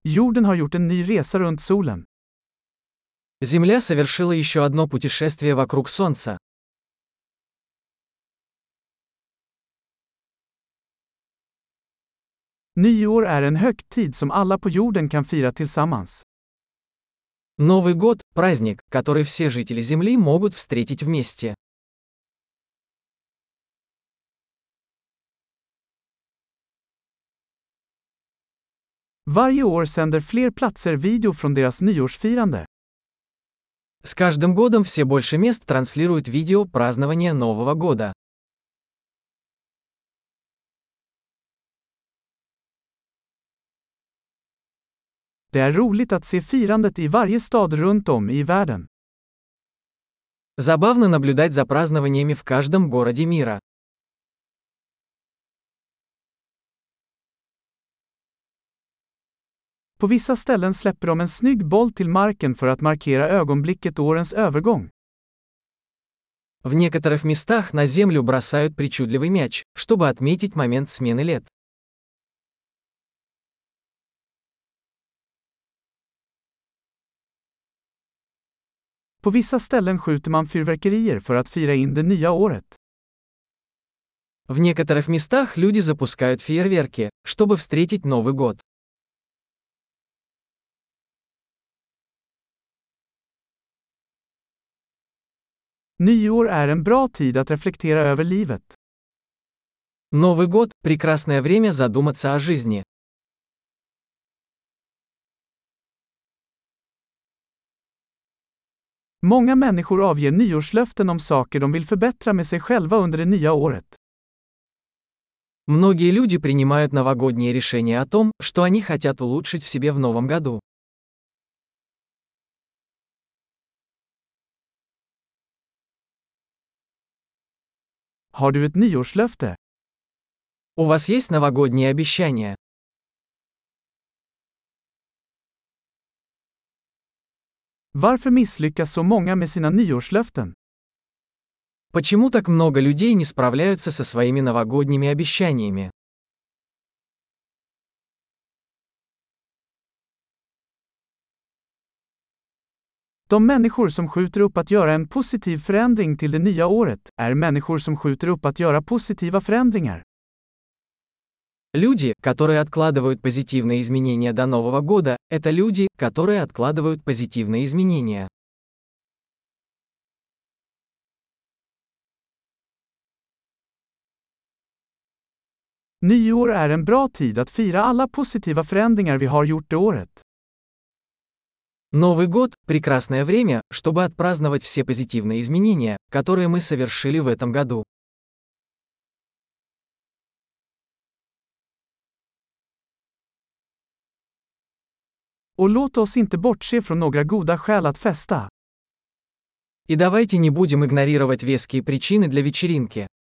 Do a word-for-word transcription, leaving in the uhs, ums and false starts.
Jorden har gjort en ny resa runt solen. Земля совершила еще одно путешествие вокруг Солнца. Nyår är en högtid som alla på jorden kan fira tillsammans. Новый год – праздник, который все жители Земли могут встретить вместе. Varje år sänder fler platser video från deras nyårsfirande. С каждым годом все больше мест транслируют видео празднования Нового года. Det är roligt att se firandet i varje stad runt om i världen. Забавно наблюдать за празднованиями в каждом городе мира. På vissa ställen släpper de en snygg boll till marken för att markera ögonblicket årens övergång. В некоторых местах на землю бросают причудливый мяч, чтобы отметить момент смены лет. På vissa ställen skjuter man fyrverkerier för att fira in det nya året. В некоторых местах люди запускают фейерверки, чтобы встретить Новый год. Nyår är en bra tid att reflektera över livet. Новый год – прекрасное время задуматься о жизни. Många människor avger nyårslöften om saker de vill förbättra med sig själva under det nya året. Многие люди принимают новогодние решения о том, что они хотят улучшить в себе в новом году. Har du ett nyårslöfte? У вас есть новогодние обещания? Varför misslyckas så många med sina nyårslöften? Почему так много людей не справляются со своими новогодними обещаниями? De människor som skjuter upp att göra en positiv förändring till det nya året är människor som skjuter upp att göra positiva förändringar. Люди, которые откладывают позитивные изменения до Нового года, это люди, которые откладывают позитивные изменения. Nyår är en bra tid att fira alla positiva förändringar vi har gjort det året. Новый год – прекрасное время, чтобы отпраздновать все позитивные изменения, которые мы совершили в этом году. Och låt oss inte bortse från några goda skäl att festa. И давайте не будем игнорировать веские причины для вечеринки.